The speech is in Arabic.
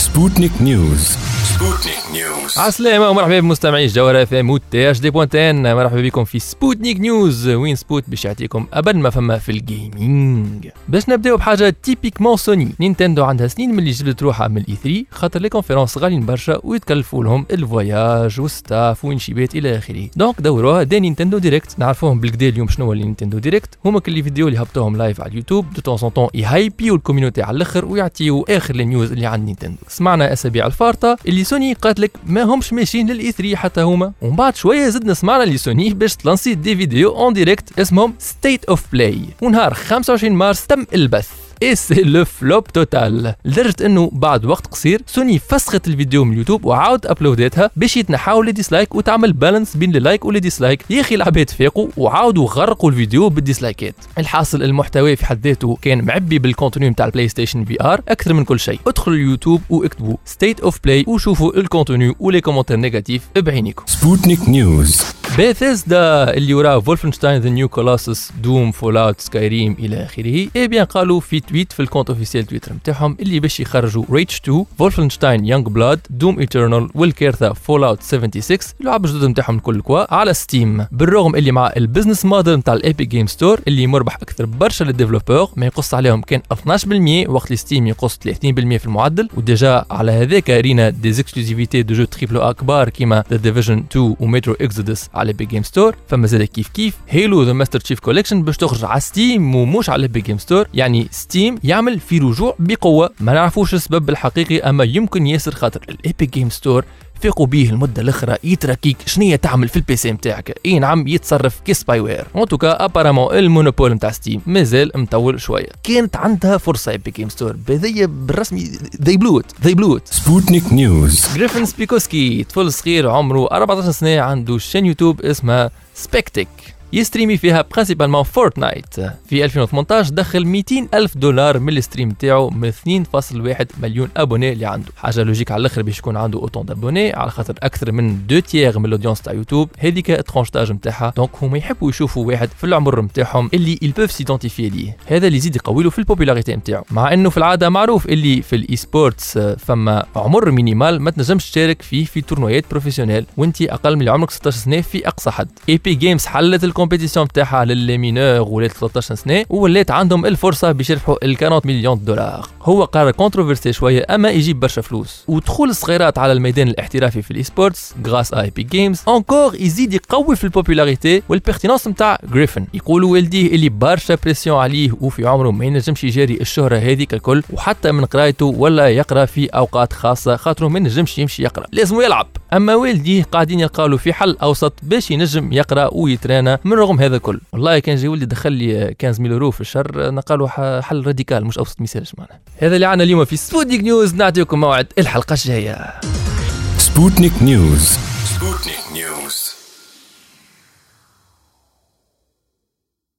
سبوتنيك نيوز. سبوتنيك نيوز. عسلامة ومرحبا بمستمعي الجوهرة FM وتاج دي بوانتين. مرحبا بكم في سبوتنيك نيوز، وين سبوت باش يعطيكم أبد ما فما في الجيمنج. باش نبداو بحاجة تيبيكمون سوني. نينتندو عندها سنين من اللي جبدت روحها من الإي3 خاطر لي كونفيرونس غاليين برشا ويتكلفوا لهم الفواياج والستاف وينشيبات إلى آخره. دونك دوروها دي نينتندو ديريكت. نعرفوهم بالكدا اليوم شنو هو نينتندو ديريكت. هما كل فيديو اللي هبطوهم لايف على اليوتيوب دو طون طون يهايبيو الكوميونيتي على الاخر ويعطيو اخر النيوز اللي عند نينتندو. سمعنا اسابيع الفارطه اللي سوني قالت لك ما همش ماشيين للاي 3 حتى هما، ومن بعد شويه زدنا سمعنا اللي سوني باش تلانسي دي فيديو اون ديريكت اسمهم ستيت اوف بلاي، ونهار 25 مارس تم البث. اي سي لو فلوب توتال، لدرجه انه بعد وقت قصير سوني فسخت الفيديو من اليوتيوب وعاود ابلودتها باش يتنحاو لي ديسلايك وتعمل بالانس بين اللايك واللي ديسلايك. يا اخي العباد فاقوا وعاودوا غرقوا الفيديو بالديسلايكات. الحاصل المحتوى في حد ذاته كان معبي بالكونتوني نتاع البلاي ستيشن في ار اكثر من كل شيء. ادخلوا اليوتيوب واكتبوا ستيت اوف بلاي وشوفوا الكونتوني ولي كومنتير نيجاتيف بعينيكم. سبوتنيك نيوز. بيثيسدا اللي وراه فولفنشتاين ذا نيو كولوسس دوم فول اوت سكايريم الى اخره، اي بيان قالوا في تويت في الكونت اوفيسيال تويتر نتاعهم اللي باش يخرجوا ريتش 2 فولفنشتاين يونغ بلاد دوم ايترنال والكيرثا فول اوت 76 اللعب الجدد نتاعهم الكل كوا على ستيم. بالرغم اللي مع البزنس موديل نتاع الايبك جيم ستور اللي مربح اكثر برشا للديفلوبور، ما يقص عليهم كان 12% وقت اللي ستيم يقص 30% في المعدل. وديجا على هذاك رينا دي اكسكلوزيفيتي دو جو تريبل اكبار كيما ذا ديفيجن 2 ومترو اكزودس على الايبك جيم ستور. فما زاد كيف هيلو ذا ماستر تشيف كوليكشن باش تخرج على ستيم ومش على الايبك جيم ستور. يعني ستيم يعمل في رجوع بقوه، ما نعرفوش السبب الحقيقي اما يمكن ياسر خاطر الايبك جيم ستور فيقوا بيه المده الاخرى يتركيك شنية تعمل في البي سي نتاعك. اي نعم يتصرف كسباي وير. ان توكا ابارامون المونوبول نتاع ستيم مازال مطول شويه. كانت عندها فرصه ايبك جيم ستور بهذيا بالرسمي they blew it. سبوتنيك نيوز. غريفن سبيكوسكي طفل صغير عمره 14 سنه عنده شين يوتيوب اسمها سبيكتيك يستريمي فيها برينسيبالمون فورتنايت. في 2018 دخل $200,000 من الستريم تاعو من 2.1 مليون ابوني اللي عنده. حاجه لوجيك على الاخر باش يكون عنده اوتون دابوني على خاطر اكثر من 2/3 من الاودينس تاع يوتيوب هذيك ترونشتاج نتاعها. دونك هما يحبوا يشوفوا واحد في العمر نتاعهم اللي يلبوف سيدونتيفي ليه. هذا اللي يزيد يقوي له في البوبولاريتي نتاعو، مع انه في العاده معروف اللي في الاي سبورتس فما عمر مينيمال ما تنجمش تشارك فيه في تورنويات بروفيسيونيل وانت اقل من عمرك 16 سنه في اقصى حد. اي بي جيمز حلت الكومبيتيسيون نتاعها للمينور ولات 13 سنه وولات عندهم الفرصه باش يربحوا $40 مليون. هو قرار كونتروفيرسي شويه اما يجيب برشا فلوس. ودخول الصغيرات على الميدان الاحترافي في الاي سبورتس غراس اي بي جيمز انكور يزيد يقوي في البوبولاريتي والبيرتينونس نتاع غريفن. يقولوا والديه اللي برشا بريسيون عليه وفي عمره ما ينجمش يجاري الشهره هذيك الكل، وحتى من قرايته ولا يقرا في اوقات خاصه خاطره ما ينجمش يمشي يقرا لازم يلعب. اما والديه قاعدين يلقاو في حل اوسط باش ينجم يقرا ويترانا من رغم هذا كل. والله كان جاي ولدي دخل لي 15,000 يورو في الشهر نقالوا حل راديكال مش اوسط مثالش معنا. هذا اللي عنا اليوم في سبوتنيك نيوز. نعطيكم موعد الحلقه الجايه. سبوتنيك نيوز.